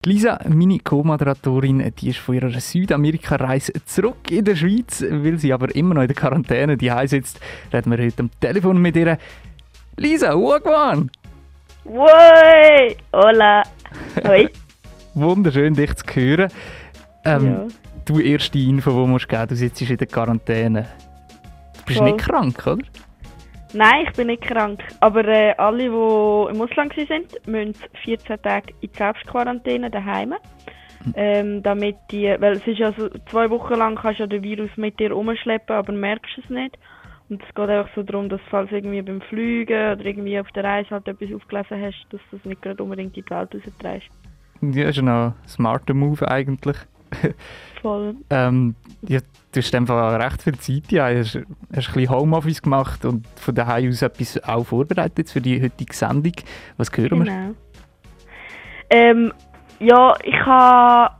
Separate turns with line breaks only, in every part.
Lisa, meine Co-Moderatorin, die ist von ihrer Südamerika-Reise zurück in der Schweiz, weil sie aber immer noch in der Quarantäne die sitzt. Reden wir heute am Telefon mit ihr. Lisa, Wagwan!
Woi! Hola! Hoi!
Wunderschön, dich zu hören.
Ja.
Du, erste Info, die du musst geben, du sitzt in der Quarantäne. Du bist
Voll.
nicht krank, oder?
Nein, ich bin nicht krank. Aber alle, die im Ausland waren, müssen 14 Tage in die Selbstquarantäne daheim. Damit weil es ist ja so, 2 Wochen lang kannst du ja den Virus mit dir rumschleppen, aber merkst es nicht. Und es geht einfach so darum, dass falls irgendwie beim Fliegen oder irgendwie auf der Reise halt etwas aufgelesen hast, dass du es nicht gerade unbedingt in die Welt rausträgst.
Ja, ist ja noch ein smarter Move eigentlich.
Voll.
Ja, du hast einfach recht viel Zeit. Ja. Hast ein bisschen Homeoffice gemacht und von daheim aus etwas auch vorbereitet für die heutige Sendung. Was hören wir?
Genau. Ja, ich habe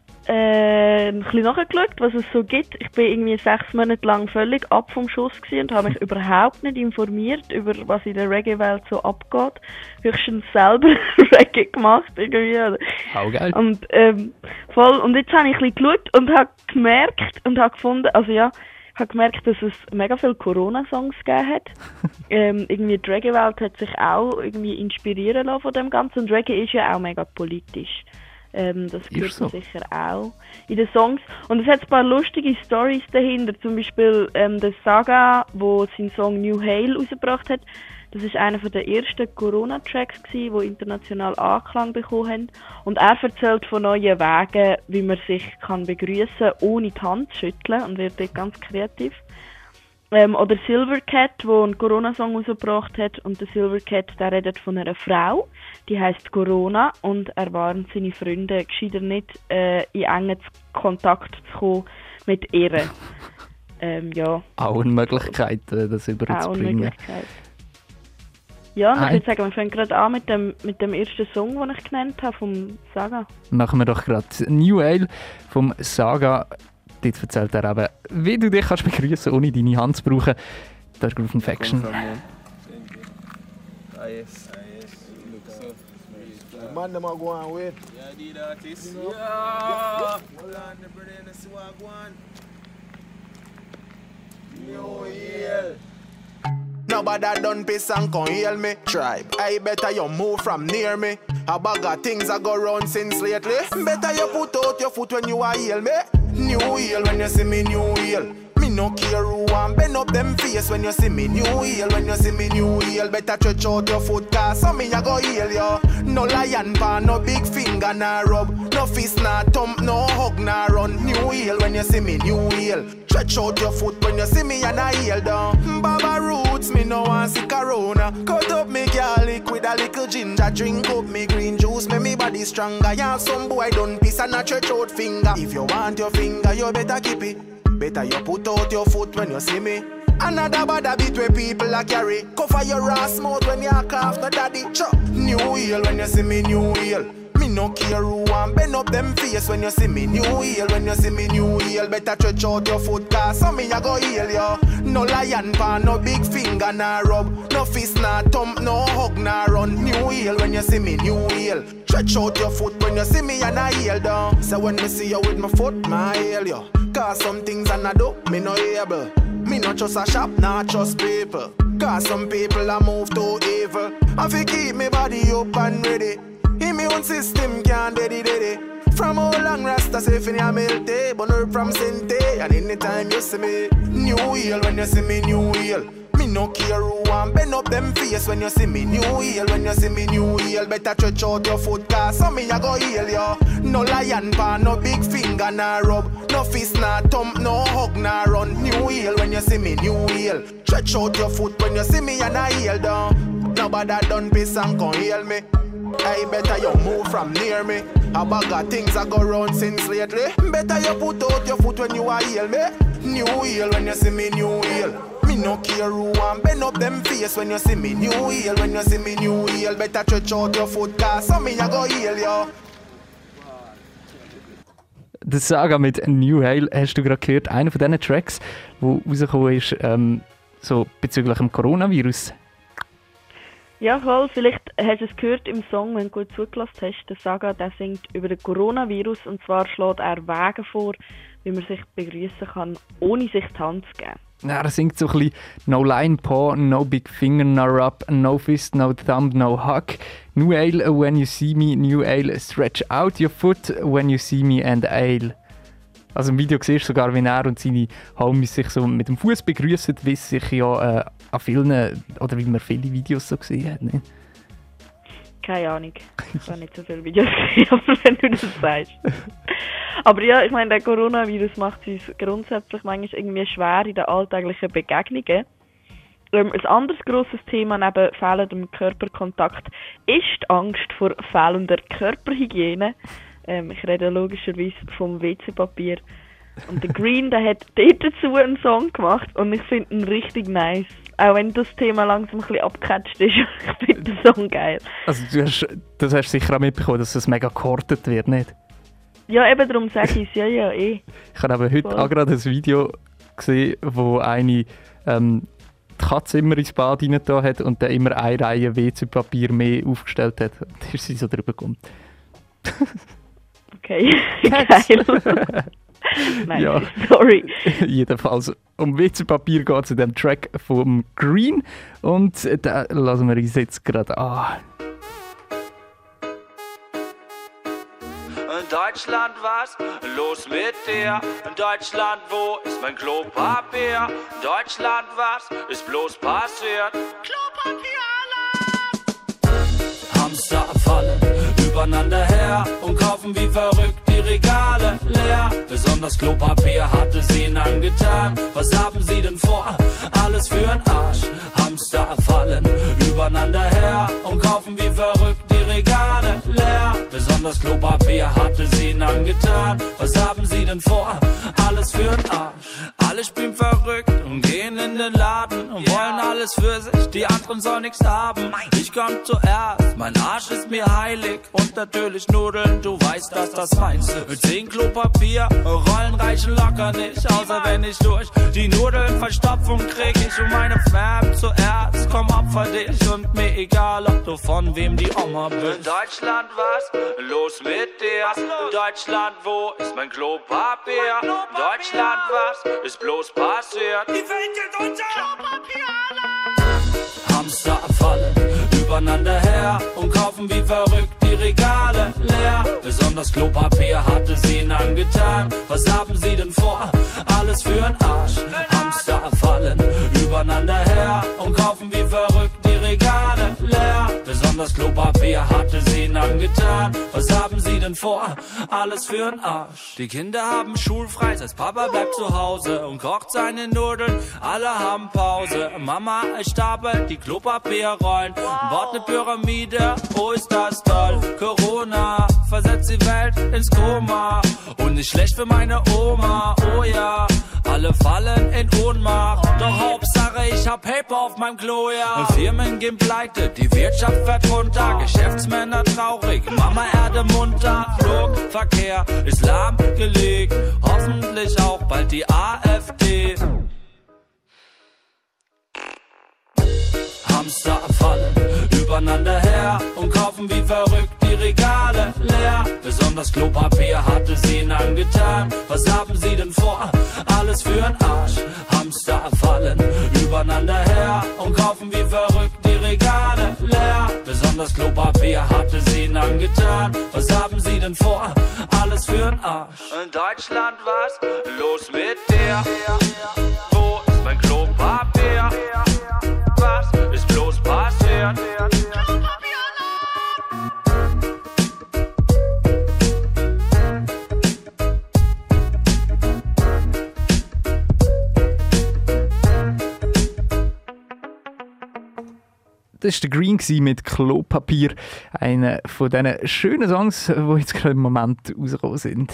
ein bisschen nachgeschaut, was es so gibt. Ich bin irgendwie 6 Monate lang völlig ab vom Schuss gewesen und habe mich überhaupt nicht informiert über was in der Reggae-Welt so abgeht. Höchstens selber Reggae gemacht irgendwie.
Auch geil.
Und voll. Und jetzt habe ich ein bisschen geschaut und habe gemerkt und habe gefunden, also ja, ich habe gemerkt, dass es mega viele Corona-Songs gegeben hat. Irgendwie die Reggae-Welt hat sich auch irgendwie inspirieren lassen von dem Ganzen. Und Reggae ist ja auch mega politisch. Das gehört so sicher auch in den Songs. Und es hat ein paar lustige Storys dahinter. Zum Beispiel der Saga, der seinen Song New Hail rausgebracht hat. Das ist einer der ersten Corona-Tracks, die international Anklang bekommen haben. Und er erzählt von neuen Wegen, wie man sich begrüßen kann, ohne die Hand zu schütteln. Und wird dort ganz kreativ. Oder Silvercat, der einen Corona-Song rausgebracht hat. Und der Silvercat, der redet von einer Frau, die heisst Corona. Und er warnt seine Freunde, gescheiter nicht in engen Kontakt zu kommen mit ihr. Ja.
Auch eine Möglichkeit, das überzubringen.
Auch eine Möglichkeit. Ja, und ich würde sagen, wir fangen gerade an mit dem ersten Song, den ich genannt habe, vom Saga.
Machen wir doch gerade New Ale vom Saga. Dort erzählt er eben, wie du dich begrüßen kannst, ohne deine Hand zu brauchen. Das ist Groove Infection.
Man, them are going with.
Yeah, the artist. Yeah. Hold on, the brother, and see what go on. New Year.
Nobody done piss and come heal me. Tribe, I better you move from near me. A bag of things I go round since lately. Better you put out your foot when you are heal me. New Year when you see me, New Year. Me no care who want bend up them face when you see me, New Year. When you see me, New Year. Better stretch out your foot, cause some me I go heal you. No lion pan, no big finger, nah rub. No fist, nah thump, no hug, nah run. New Year when you see me, New Year. Stretch out your foot when you see me and I heal down. Baba roots, me no want see corona. Cut up me garlic with a little ginger. Drink up me green juice, make me body stronger. Yeah, some boy done piss and a stretch out finger. If you want your finger, you better keep it. Better you put out your foot when you see me. Another bad beat where people a carry. Cover your ass mouth when you cough, no daddy. New Year when you see me, New Year. Me no care who want bend up them face when you see me, New Year. When you see me, New Year. Better stretch out your foot, cause some me a go heal you. No lion pan, no big finger, nah rub. No fist, nah thump, no hug, nah run. New Year when you see me, New Year. Stretch out your foot when you see me and I heal down. So when me see you with my foot, my heal you. Cause some things I do, me no able. Me not just a shop, not just people. Cause some people a move too evil. I fi keep me body up and ready. Immune system can't daddy. From how long Rasta say fin ya melte. Burn her from Sente. And anytime you see me, New Year when you see me, New Year. Me no care who want bend up them face when you see me, New Year. When you see me, New Year. Better stretch out your foot, cause some me a go heal you. No lion pan, no big finger, nah rub. No fist, nah thump, no hug, nah run. New Year when you see me, New Year. Stretch out your foot when you see me and I heal down. Nobody done piss and come heal me. I better you move from near me. A bag of things I go round since lately. Better you put out your foot when you are heal me. New Year when you see me, New Year. Me no care who want bend up them face when you see me, New Year. When you see me, New Year. Better stretch out your foot, cause some me I go heal you.
Die Saga mit New Hail hast du gerade gehört. Einer von diesen Tracks, der rausgekommen ist, so bezüglich dem Coronavirus.
Ja, voll. Vielleicht hast du es gehört im Song, wenn du gut zugelassen hast. Der Saga, der singt über den Coronavirus und zwar schlägt er Wege vor, wie man sich begrüßen kann, ohne sich die Hand zu geben.
Ja, er singt so ein bisschen «No line paw, no big finger, no rub, no fist, no thumb, no hug. New ale when you see me, new ale stretch out your foot when you see me and ale.» Also im Video siehst du sogar, wie er und seine Homies sich so mit dem Fuß begrüßen, wie es sich ja an vielen, oder wie man viele Videos so gesehen hat. Ne?
Keine Ahnung. Ich habe nicht so viele Videos gesehen, aber wenn du das sagst. Aber ja, ich meine, der Coronavirus macht es uns grundsätzlich manchmal irgendwie schwer in den alltäglichen Begegnungen. Ein anderes grosses Thema neben fehlendem Körperkontakt ist die Angst vor fehlender Körperhygiene. Ich rede logischerweise vom WC-Papier. Und der Green, der hat dort dazu einen Song gemacht und ich finde ihn richtig nice. Auch wenn das Thema langsam ein bisschen abgecatcht ist, ich finde den Song geil.
Also das hast du sicher auch mitbekommen, dass es mega gehortet wird, nicht?
Ja, eben darum sage ich es, ja, eh.
Ich habe aber heute auch gerade ein Video gesehen, wo eine die Katze immer ins Bad reingetan hat und dann immer eine Reihe WC-Papier mehr aufgestellt hat. Und dann ist sie so drüber gekommen.
Okay, geil. Nein,
ja.
Sorry.
Jedenfalls um WC-Papier geht es in dem Track vom Green und den lassen wir uns jetzt gerade an.
In Deutschland, was los mit dir? In Deutschland, wo ist mein Klopapier? In Deutschland, was ist bloß passiert? Klopapierladen! Hamster fallen übereinander her und kaufen wie verrückt die Regale leer. Besonders Klopapier hatte sie ihnen angetan. Was haben sie denn vor? Alles für'n Arsch. Hamster fallen übereinander her und kaufen wie verrückt die Regale leer. Besonders Klopapier hatte sie ihnen angetan. Was haben sie denn vor? Alles für'n Arsch. Alle spielen verrückt und gehen in den Laden und wollen alles für sich, die anderen sollen nichts haben. Ich komm zuerst, mein Arsch ist mir heilig und natürlich Nudeln, du weißt, dass das meinst du. Mit 10 Klopapier, Rollen reichen locker nicht, außer wenn ich durch die Nudeln Verstopfung krieg. Ich und meine Fam zuerst, komm opfer dich und mir egal, ob du von wem die Oma bist. In Deutschland, was los mit dir? In Deutschland, wo ist mein Klopapier? In Deutschland, was ist bloß passiert? Die Welt geht unter! Hamster fallen übereinander her und kaufen wie verrückt die Regale leer. Besonders Klopapier hatte sie ihnen angetan. Was haben sie denn vor? Alles für'n Arsch. Hamster fallen übereinander her und kaufen wie verrückt die Regale leer. Besonders Klopapier hatte sie ihnen angetan. Was haben sie denn vor? Alles für'n Arsch. Die Kinder haben schulfrei, das heißt Papa bleibt zu Hause und kocht seine Nudeln. Alle haben Pause. Mama stapelt die Klopapierrollen und baut eine Pyramide. Oh, ist das toll. Corona versetzt die Welt ins Koma. Und nicht schlecht für meine Oma. Oh ja, alle fallen in Ohnmacht. Doch Hauptsache ich hab Paper auf meinem Klo, ja. Firmen gehen pleite, die Wirtschaft fährt runter. Geschäftsmänner traurig, Mama Erde munter. Flugverkehr ist lahmgelegt. Hoffentlich auch bald die AfD. Hamster fallen übereinander her und kaufen wie verrückt die Regale leer. Besonders Klopapier hatte sie ihnen angetan. Was haben sie denn vor? Alles für'n Arsch. Hamster fallen übereinander her und kaufen wie verrückt die Regale leer. Besonders Klopapier hatte sie ihnen angetan. Was haben sie denn vor? Alles für'n Arsch. In Deutschland, was los mit dir? Wo ist mein Klopapier? Was ist bloß passiert?
Das war der Green mit Klopapier. Einer von diesen schönen Songs, die jetzt gerade im Moment rausgekommen sind.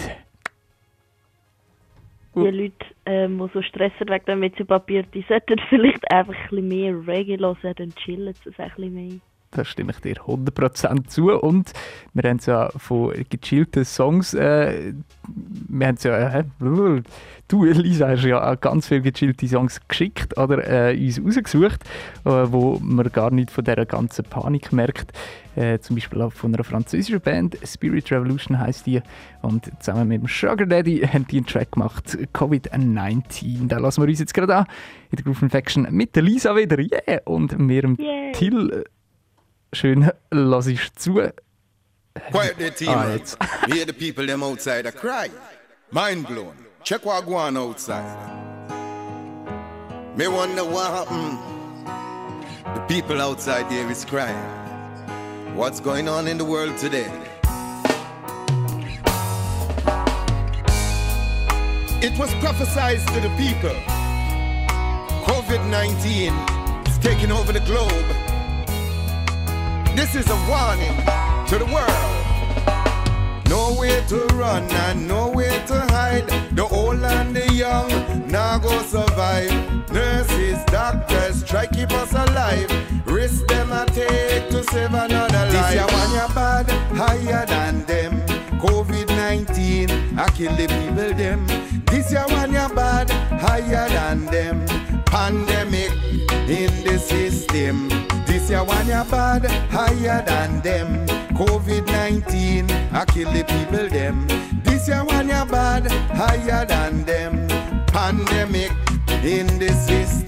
Die Leute, die so stressen wegen dem WC-Papier, die sollten vielleicht einfach ein bisschen mehr Reggae hören, dann chillen sie ein bisschen mehr.
Da stimme ich dir 100% zu. Und wir haben es ja von gechillten Songs wir haben es ja, du, Lisa, hast ja auch ganz viele gechillte Songs geschickt oder uns rausgesucht, wo man gar nicht von dieser ganzen Panik merkt. Zum Beispiel auch von einer französischen Band, Spirit Revolution heisst die. Und zusammen mit dem Sugar Daddy haben die einen Track gemacht, Covid-19. Da lassen wir uns jetzt gerade an, in der Groove Infection mit der Lisa wieder. Yeah! Und mir dem Till. Schön, lass ich zu.
Quiet the team,
jetzt.
We hear the people them outside a cry. Mind blown. Check what go on outside. Me wonder what happened. The people outside there is crying. What's going on in the world today? It was prophesied to the people. COVID-19 is taking over the globe. This is a warning to the world. Nowhere to run and nowhere to hide. The old and the young now go survive. Nurses, doctors, try keep us alive. Risk them a take to save another life. This year one ya bad, higher than them. COVID-19, I kill the people them. This year one ya bad, higher than them. Pandemic in the system. This year one ya bad, higher than them. COVID-19, I kill the people them. This year one ya bad, higher than them. Pandemic in the system.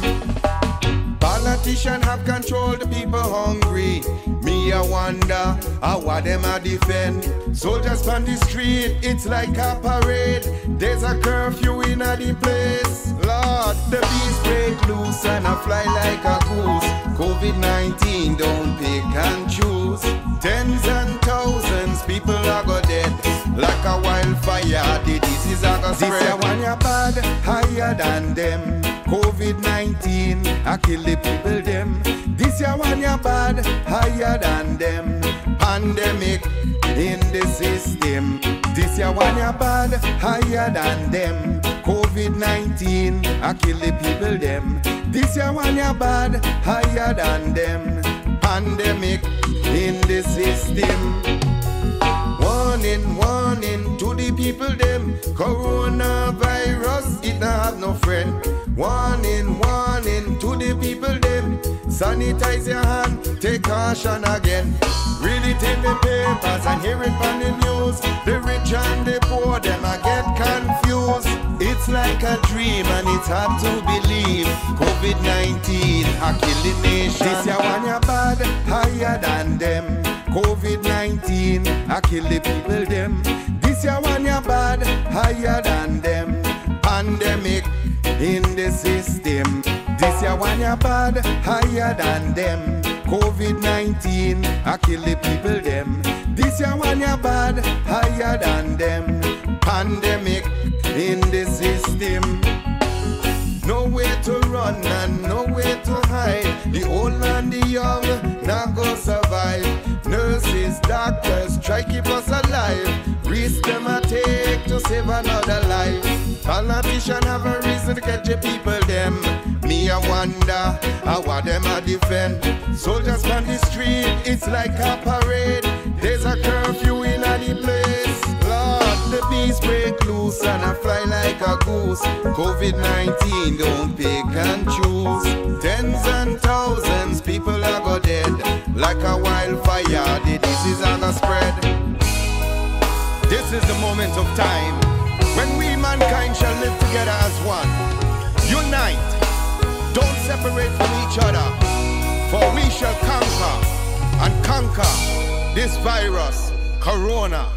Politicians have controlled the people hungry. Me I wonder how them a defend. Soldiers on the street, it's like a parade. There's a curfew in the place. Lord, the beast break loose and I fly like a goose. COVID-19 don't pick and choose. Tens and thousands people are go dead. Like a wildfire, the disease are go spread. This year one ya bad, higher than them. COVID-19, I kill the people them. This year one ya bad, higher than them. Pandemic in the system. This year one ya bad, higher than them. COVID-19, I kill the people them. This year one ya bad, higher than them. Pandemic in the system. Warning, warning to the people them. Coronavirus, it not have no friend. Warning, warning to the people them. Sanitize your hand, take caution again. Read it in the papers and hear it on the news. The rich and the poor, them I get confused. It's like a dream and it's hard to believe. COVID-19, I kill the nation. This year one ya bad, higher than them. COVID-19, I kill the people them. This year one ya bad, higher than them. Pandemic in the system. This year one ya bad, higher than them. COVID-19, I kill the people them. This year one ya bad, higher than them. Pandemic in the system. Nowhere to run and nowhere to hide. The old and the young now go survive. Nurses, doctors, try keep us alive. Risk them a take to save another life. Politicians have a reason to catch the people them. Me I wonder how them a defend. Soldiers on the street, it's like a parade. There's a curfew in the place. Lord, the beast break loose and I fly like a goose. COVID-19 don't pick and choose. Tens and thousands people are go dead. Like a wildfire, the disease are go spread. This is the moment of time when we mankind shall live together as one. Unite, don't separate from each other, for we shall conquer and conquer this virus, Corona.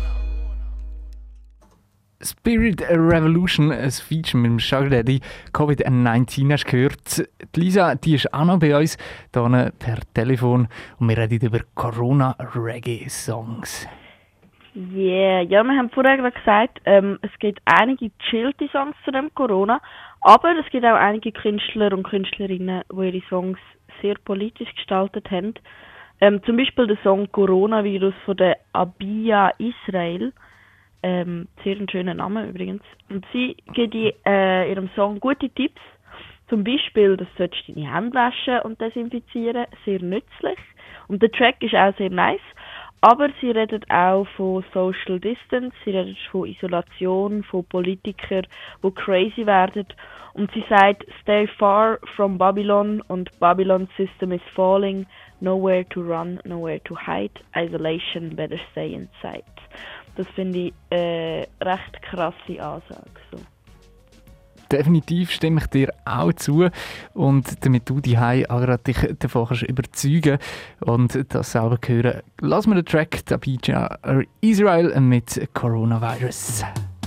Spirit Revolution, ein Feature mit dem Sugar Daddy. Covid-19 hast du gehört. Die Lisa, die ist auch noch bei uns, hier per Telefon. Und wir reden über Corona-Reggae-Songs.
Yeah, ja, wir haben vorher gesagt, es gibt einige chillte Songs zu dem Corona, aber es gibt auch einige Künstler und Künstlerinnen, die ihre Songs sehr politisch gestaltet haben. Zum Beispiel der Song Coronavirus von der Abia Israel. Sehr ein schöner Name übrigens. Und sie gibt in ihrem Song gute Tipps. Zum Beispiel, dass du deine Hände waschen und desinfizieren. Sehr nützlich. Und der Track ist auch sehr nice. Aber sie reden auch von Social Distance, sie reden von Isolation, von Politikern, die crazy werden. Und sie sagt, stay far from Babylon und Babylon's system is falling. Nowhere to run, nowhere to hide. Isolation, better stay inside. Das finde ich recht krasse Ansage. So.
Definitiv stimme ich dir auch zu. Und damit du daheim dich davon kannst überzeugen und das selber hören, lass mir den Track Abidjan Israel mit Coronavirus.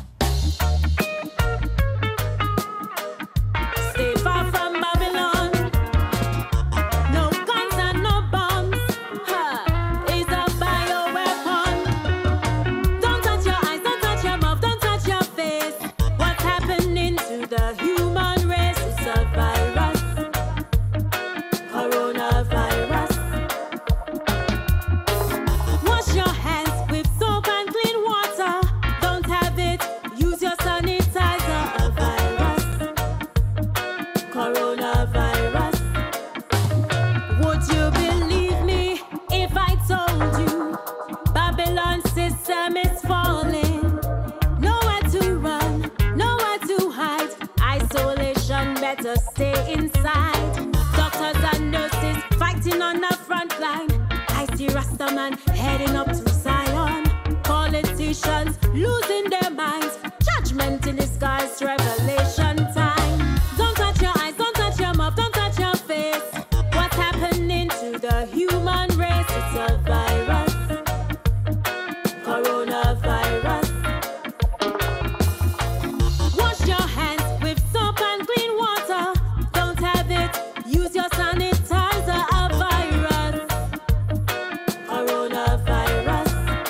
Stay inside. Doctors and nurses fighting on the front line. I see Rastaman heading up to Zion. Politicians losing their minds. Judgment in the skies, revelation time. Don't touch your eyes, don't touch your mouth, don't touch your face. What's happening to the human race? It's a virus, coronavirus. Wash your hands with soap and clean water. Don't have it, use your sanitizer. A virus, coronavirus.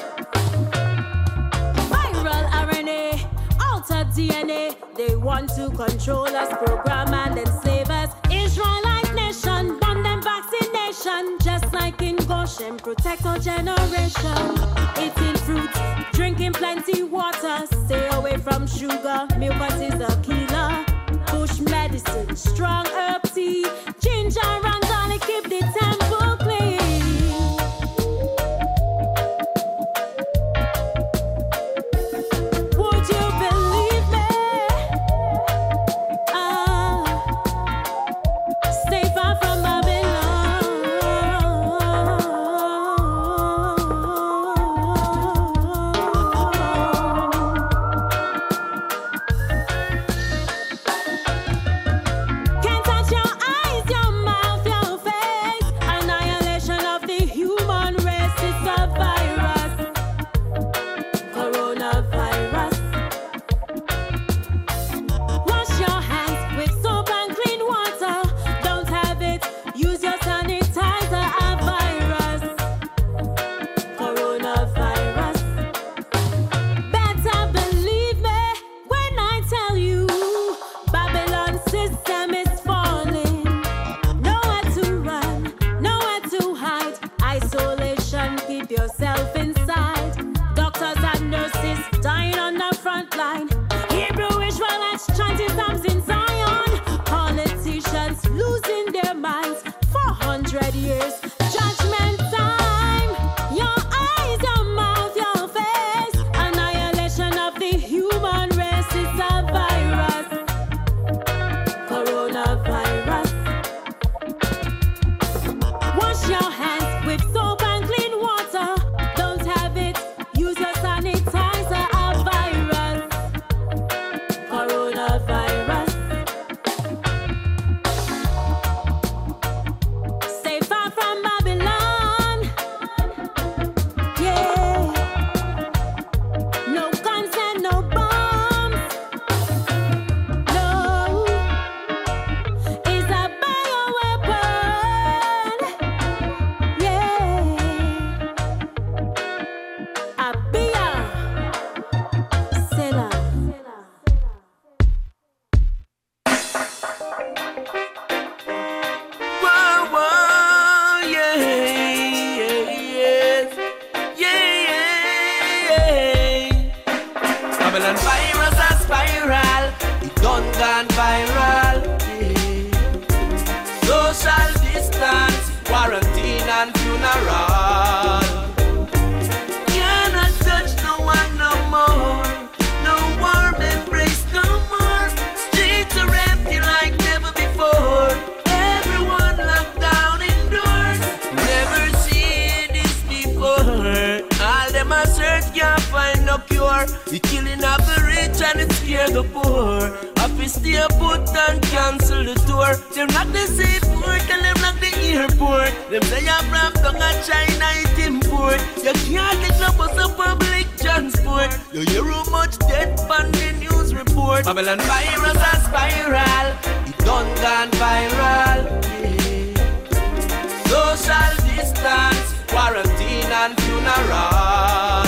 Viral RNA, altered DNA. They want to control us, program and enslave us. Israelite nation, bomb them vaccination. Just like in Goshen, protect our generation. Eating fruits, drinking plenty water. Stay away from sugar, milk is a killer. Bush medicine, strong herb tea. Ginger and garlic keep the temple clean. Would you believe me? Stay far from Babylon. Can't touch your eyes, your mouth, your face. Annihilation of the human race. It's a virus, coronavirus. Wash your hands with soap and clean water. Don't have it, use your sanitizer. A virus, coronavirus. Better believe me when I tell you Babylon's system is falling. Nowhere to run, nowhere to hide. Isolation, keep yourself inside. Doctors and nurses dying on the front line. Hebrew Israelites chanting psalms in Zion. Politicians losing their minds. 400 years, judgment time. Your eyes, your mouth, your face. Annihilation of the human race. It's a virus, coronavirus. Wash your hands with soap and clean water. Don't have it, use your sanitizer. A virus, coronavirus. Stay far from Babylon. Yeah. No guns and no bombs. No. It's a bioweapon. Yeah. Abia. Selah.
Whoa, whoa, yeah, yes, yeah. Babylon virus a spiral, it done gone viral, yeah. Social distance, quarantine and funeral. The killing of the rich and it scare the poor. If we stay put and cancel the tour, them lock the seaport and them lock the airport. Them say you from down at China it import. You can't get no bus of public transport. You hear how much death on the news report. Babylon virus a spiral, it done gone viral. Yeah. Social distance, quarantine and funeral.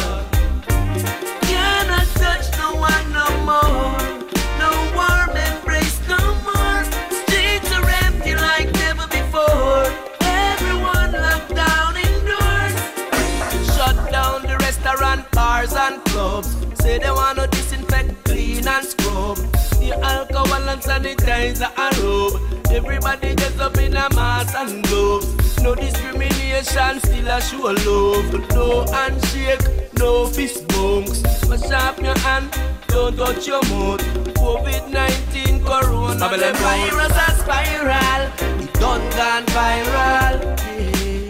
Cannot touch no one no more. No warm embrace no more. Streets are empty like never before. Everyone locked down indoors. Shut down the restaurant, bars and clubs. Say they wanna disinfect, clean and scrub. The alcohol and sanitizer and rub. Everybody gets up in a mask and gloves. No discrimination, still a show love. No handshake, no fist bumps. Wash up your hand, don't touch your mouth. COVID-19, Corona, Babylon virus a spiral. It done gone viral. Yeah.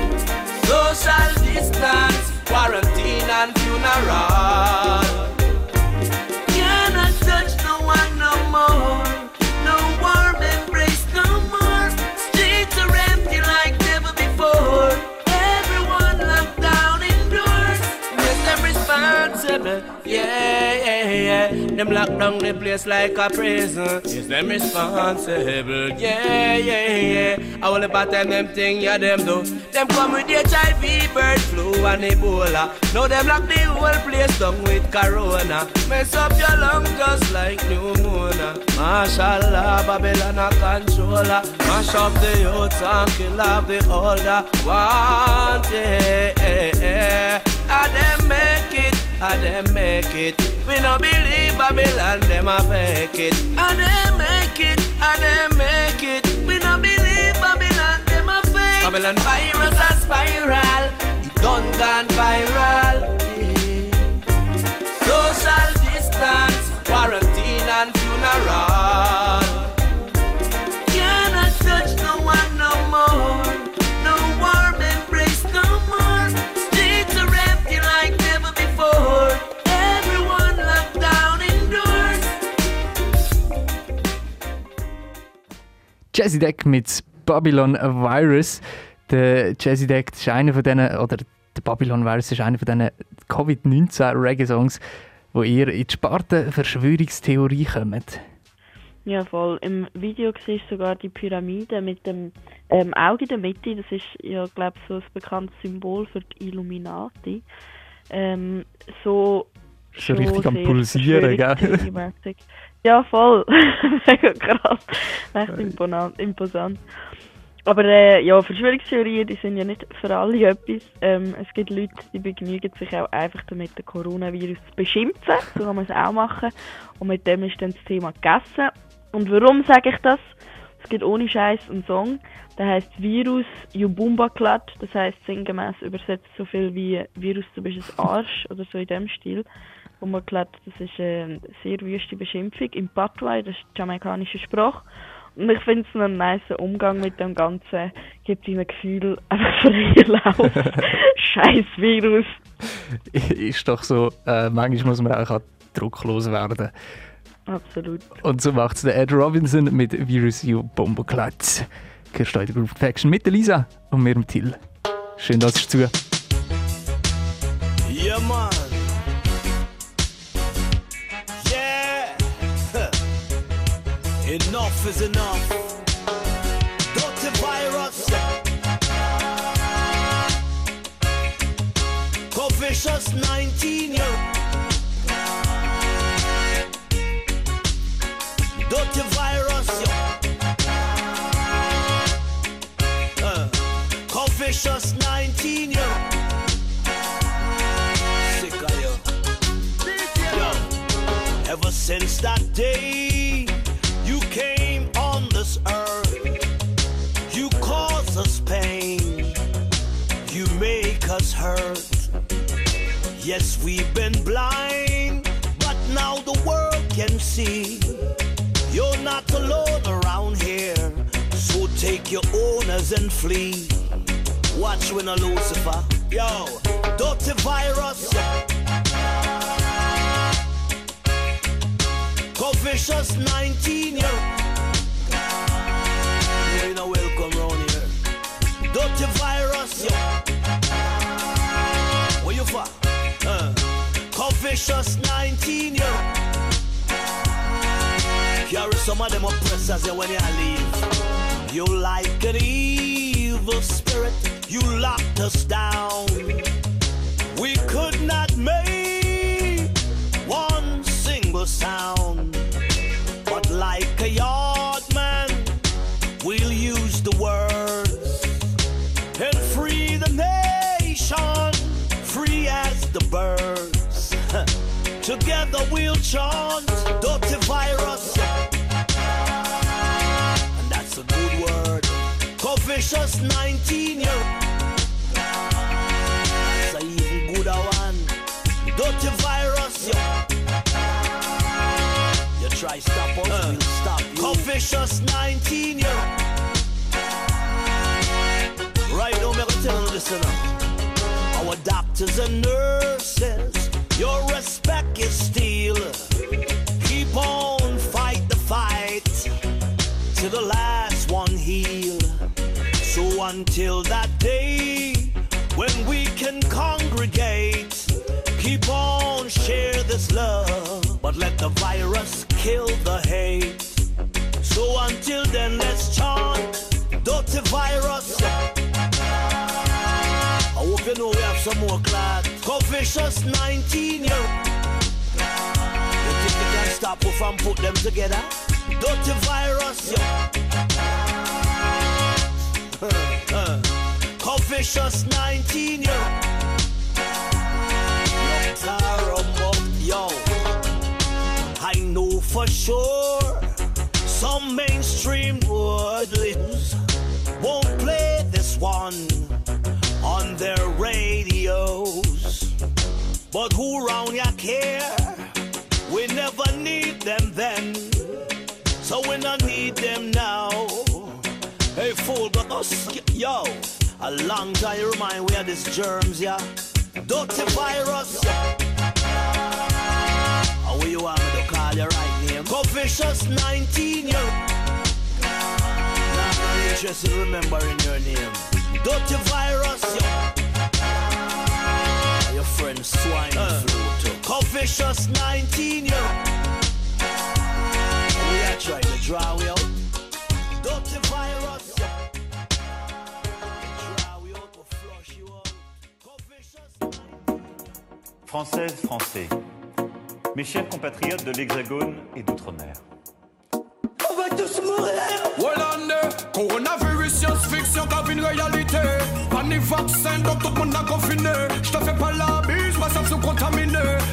Social distance, quarantine and funeral. Cannot touch no one no more. No warm embrace no more. Streets are empty like never before. Everyone locked down indoors. Yes, them responsible. Yeah. Them lock down the place like a prison. Yes, them responsible. Yeah. I will about them thing, yeah, them do. Them come with HIV, bird flu and Ebola. Now them lock the whole place down with Corona. Mess up your lungs just like pneumonia. Mashallah, Babylon a controller. Mash up the youths and kill off the older. Want it, and them make it. And them make it. We no believe Babylon, them a fake it. And them make it, and them make it. We no believe Babylon, them a fake. Babylon virus a spiral, it done gone viral. Yeah. Social distance, quarantine and funeral. Cannot touch no one no more. No warm embrace no more. Streets are empty like never before. Everyone locked down indoors.
Jazzy Deck mit Babylon Virus. Der Jazzy Deck ist einer von denen, oder der Babylon Virus ist einer von diesen Covid-19-Reggae-Songs, wo ihr in die Sparte Verschwörungstheorie kommt.
Ja, voll. Im Video siehst du sogar die Pyramide mit dem Auge in der Mitte. Das ist ja, glaube ich, so ein bekanntes Symbol für die Illuminati. So
richtig am Pulsieren, gell?
Ja, voll. Mega krass. Echt imposant. Aber ja, Verschwörungstheorien, die sind ja nicht für alle etwas. Es gibt Leute, die begnügen sich auch einfach damit, den Coronavirus zu beschimpfen. So kann man es auch machen. Und mit dem ist dann das Thema gegessen. Und warum sage ich das? Es gibt ohne Scheiß einen Song, der heisst Virus Yubumba Klat. Das heisst sinngemäß übersetzt so viel wie Virus, du bist ein Arsch oder so in dem Stil. Yubumba Klat, das ist eine sehr wüste Beschimpfung im Patois, das ist die jamaikanische Sprache. Und ich finde es einen nice Umgang mit dem Ganzen. Gibt ihm ein Gefühl, einfach freien Lauf. Scheiß Virus.
Ist doch so, manchmal muss man auch drucklos werden.
Absolut.
Und so macht es der Ed Robinson mit Virus Yubumba Klat. Gehörst du in der Group Faction mit der Lisa und mir dem Till. Schön, dass ihr zu.
Yeah, man. Enough is enough. Dirty virus. Coficious 19 year. Dirty virus. Coficious 19 year. Sick of you. Yo. Ever since that day you came on this earth, you cause us pain, you make us hurt. Yes, we've been blind, but now the world can see. You're not alone around here, so take your owners and flee. Watch when a Lucifer, yo, dirty virus.
Confucius 19, yo. You know, welcome round here. Dirty virus, yo. Where you from? Confucius 19, yo. Carry some of them oppressors here when you leave. You like an evil spirit, you locked us down. We could not make one single sound. But like a yard man, we'll use the words and free the nation, free as the birds. Together we'll chant dirty virus. And that's a good word. Confucius 19, yo. That's a even gooder one. Dirty virus, yo. You try stop us, we'll stop you. Confucius 19, yo. Right now, I'm gonna tell you this now. Our doctors and nurses, your respect is still. Keep on, fight the fight till the last one heal. So until that day when we can congregate, keep on, share this love, but let the virus kill the hate. So until then, let's chant dirty virus. I hope you know we have some more class. Confucius 19, yo. You think you can stop us from put them together? Dirty virus, yo. Confucius 19, yo. Yo. I know for sure some mainstream woodlands won't play this one on their radios. But who round ya care? We never need them then, so we don't need them now. Hey fool, but us, yo, a long time you remind we are these germs, yeah. Dirty virus. How you want me to call your right name? Confucius 19, yo. Now I'm interested in remembering your name. Dirty virus, yo. Your friend swine flu too. Confucius 19, yo. We are trying to draw you out. Dirty virus, yo. Draw you out, we'll flush you out. Confucius 19.
Françaises, Français, mes chers compatriotes de l'Hexagone et d'Outre-mer.
On va tous mourir.
Hollande, coronavirus, science-fiction, comme une réalité. Pas ni vaccin, donc tout le monde a confiné. Je te fais pas la bise, moi ça se contamine.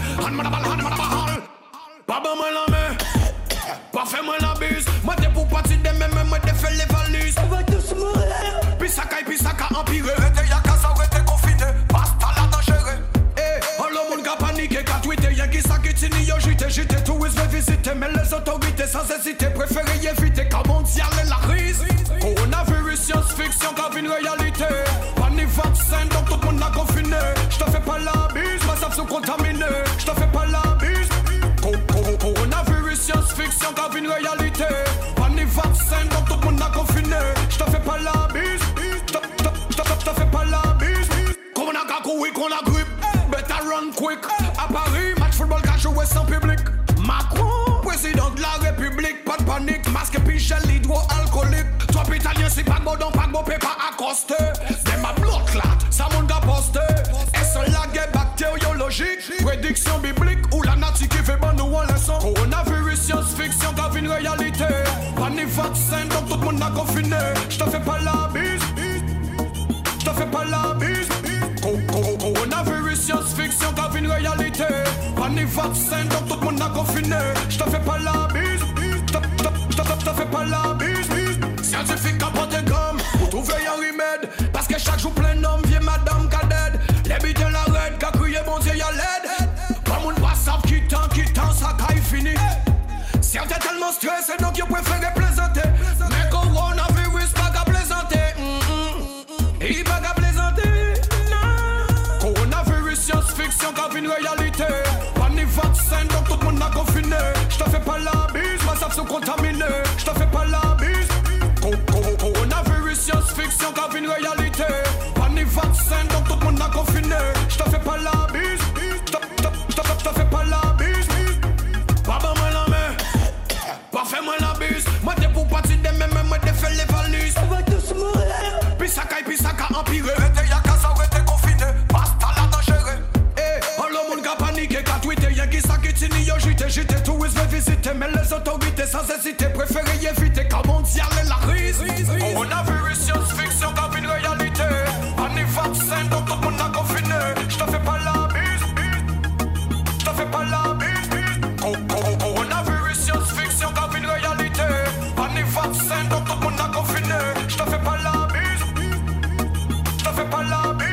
Pas bon moi la main, pas fait moi la bise. Moi t'es pour partir de même, moi t'es fait les valises.
On va tous mourir.
Pisaka empiré. Rete y'a qu'à ça, rete confiné. Basta la dangereux. Le monde a paniqué, qu'a tweeté, y'a qui s'inquiète, yo j'étais touriste, vais visiter, mais les autorités sans hésiter, préférez éviter, car mondial est la crise. Coronavirus, science-fiction, car une réalité. Pas ni vaccin, donc tout le monde a confiné. J'te fais pas la bise, ma savent se contaminer. J'te fais pas la bise. Coronavirus, science-fiction, car une réalité. Pas ni vaccin, donc tout le monde a confiné. J'te fais pas la bise. J'te fais pas la bise. Qu'on a gagou, oui, qu'on a grippe. Better run quick. À Paris, match football qu'a joué sans public. Macron, président de la République. Pas de panique, masque puis gel hydroalcoolique. Toi, italien, si pas de bon, pas de bon, peut pas accoster. Des ma bloc là, ça monde a posté. Est-ce la guerre bactériologique? Prédiction biblique ou la nature qui fait bon nous en leçon. Coronavirus, science-fiction, grave une réalité. Pas ni vaccin, donc tout le monde a confiné. J'te fais pas la bise. J'te fais pas la bise. Coronavirus, science-fiction, grave une réalité. Pas ni vaccin, donc tout le monde a confiné. J'te fais pas la bise. J'te fais pas la bise. Scientifique à porter gomme pour trouver un remède. Parce que chaque jour plein d'hommes vient madame cadette. Les bites la raide, qu'a crié bon Dieu y'a l'aide. Pas moun pas savent qui tant, ça caille fini. Certains tellement stressés donc ils préfèrent plaisanter. Mais coronavirus pas qu'à plaisanter. Il pas qu'à plaisanter. Coronavirus, science-fiction, grave une réalité. Pas ni vaccin, donc tout le monde a confiné. J'te fais pas la bise. ça qui t'innie, j'étais tout, je vais visiter. Mais les autorités sans hésiter préféraient éviter. Car mondial est la crise. Coronavirus, science-fiction, comme une réalité. Pas ni vaccin, donc tout le monde a confiné. Je te fais pas la bise. Je te fais pas la bise. Coronavirus, science-fiction, comme une réalité. Pas ni vaccin, donc tout le monde a confiné. Je te fais pas la bise. Je te fais pas la bise.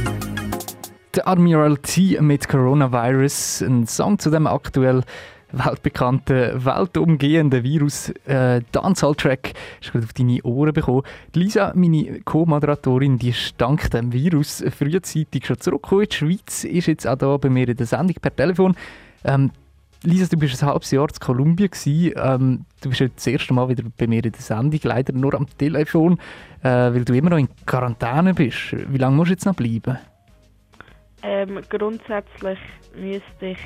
Der Admiral T mit Coronavirus, ein Song zu dem aktuell weltbekannten, weltumgehenden Virus. Dancehall-Track ist gerade auf deine Ohren bekommen. Lisa, meine Co-Moderatorin, die ist dank dem Virus frühzeitig schon zurückgekommen in die Schweiz, ist jetzt auch hier bei mir in der Sendung per Telefon. Lisa, du bist ein halbes Jahr in Kolumbien gewesen. Du bist jetzt das erste Mal wieder bei mir in der Sendung, leider nur am Telefon, weil du immer noch in Quarantäne bist. Wie lange musst du jetzt noch bleiben?
Grundsätzlich müsste ich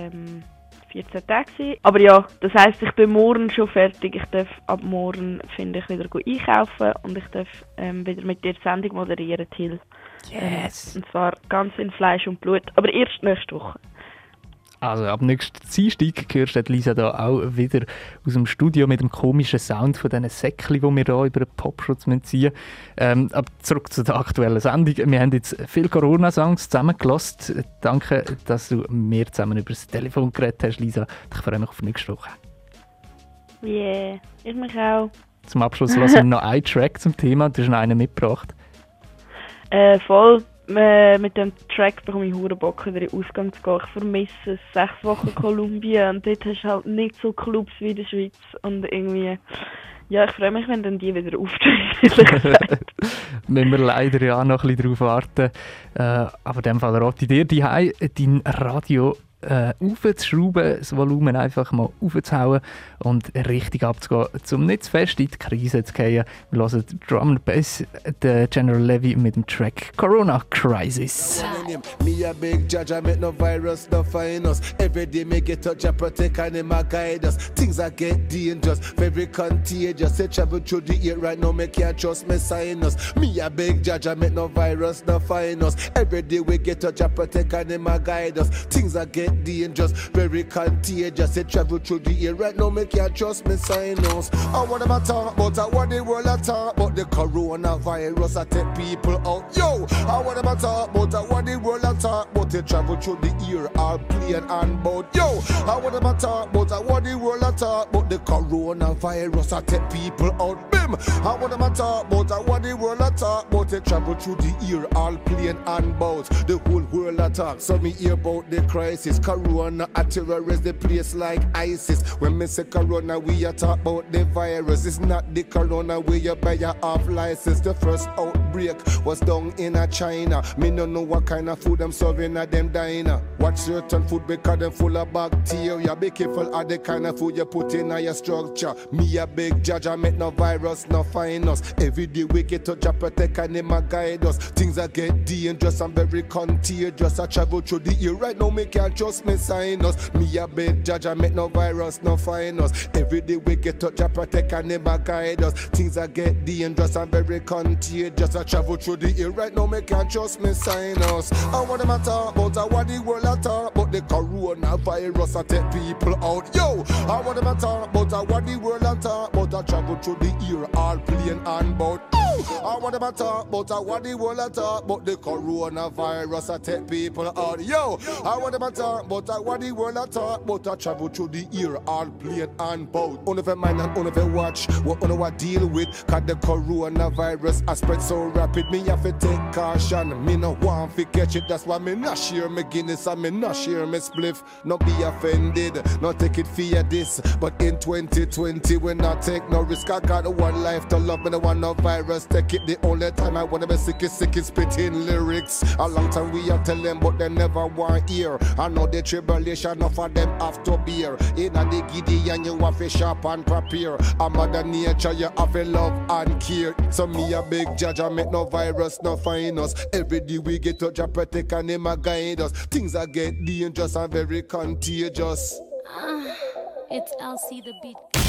14 Tage sein. Aber ja, das heisst, ich bin morgen schon fertig. Ich darf ab morgen, finde ich, wieder einkaufen und ich darf wieder mit dir die Sendung moderieren, Till.
Yes!
Und zwar ganz in Fleisch und Blut, aber erst nächste Woche.
Also ab nächsten Dienstag hörst du Lisa da auch wieder aus dem Studio mit dem komischen Sound von diesen Säckchen, die wir hier über den Popschutz ziehen müssen. Aber zurück zu der aktuellen Sendung. Wir haben jetzt viele Corona-Songs zusammengelassen. Danke, dass du mir zusammen über das Telefon geredet hast, Lisa. Ich freue mich auf nächste Woche.
Yeah, ich mich auch.
Zum Abschluss lassen wir noch einen Track zum Thema. Du hast noch einen mitgebracht.
Voll. Mit dem Track bekomme ich verdammt Bock, wieder in den Ausgang zu gehen. Ich vermisse es. 6 Wochen Kolumbien und dort hast du halt nicht so Clubs wie in der Schweiz. Und irgendwie, ja, ich freue mich, wenn dann die wieder auftreten.
Müssen wir leider ja noch ein bisschen darauf warten. Aber in dem Fall rate ich dir, daheim dein Radio aufzuschrauben, das Volumen einfach mal aufzuhauen und richtig abzugehen, um nicht zu fest in die Krise zu gehen. Wir hören Drum and Bass, der General Levy mit dem Track Corona Crisis.
Me a big judge, I make no virus, no find us. Every day me get touch, I protect and him a guide us. Things I get dangerous, very contagious. Say travel through the air right now, me can't trust me sinus. Me a big judge, I make no virus, no find us. Every day we get touch, I protect and him a guide us. Things I get dangerous, very contagious. Say travel through the air right now, me can't trust me sinus. I want them to talk about, I want the world to talk about the coronavirus. I take people out, yo. I want them to talk about, I want the world to talk about the travel through the air, all plane and boat, yo. I want them to talk about, I want the world to talk about the coronavirus. I take people out, bim. I want them to talk about, I want the world to talk about the travel through the air, all plane and boat. The whole world attack, so me hear about the crisis. Corona a terrorist, the place like ISIS. When me say corona, we a talk about the virus. It's not the corona where you buy your off license. The first outbreak was down in a China. Me no know what kind of food them serving at them diner. Watch certain food because them full of bacteria. Be careful of the kind of food you put in your structure. Me a big judge, I make no virus, no find us. Every day we get to job protect and them a guide us. Things I get dangerous and very contagious. I travel through the air right now, me can't trust me sinus. Me a big judge, I make no virus, no find us. Every day we get to job protect and them a guide us. Things I get dangerous and very contagious. I travel through the air right now, me can't trust me sinus. I want them to talk about, I want the world to talk about the coronavirus. I take people out, yo. I want them to talk about, I want the world to talk about. I travel through the air, all plane and boat. I want them to talk about, I want the world to talk about the coronavirus. I take people out, yo. I want them to talk about, I want the world to talk about. I travel through the air, all plane and boat. Only for mind and only for watch what only what deal with. Cause the coronavirus I spread so rapid, me have to take caution. Me no want to catch it, that's why me not share me Guinness and me not share me spliff. Not be offended, not take it for this. But in 2020 we not take no risk. I got one life to love, me no want no virus. Take it the only time I wanna be sick is spitting lyrics. A long time we are tell them but they never want hear. I know the tribulation of them have to bear. In the giddy and you have to shop and prepare. A mother nature you have to love and care. So me a big judge, I make no virus, no find us. Every day we get to job protect and him a guide us. Things I get dangerous and very contagious.
It's LC the beat.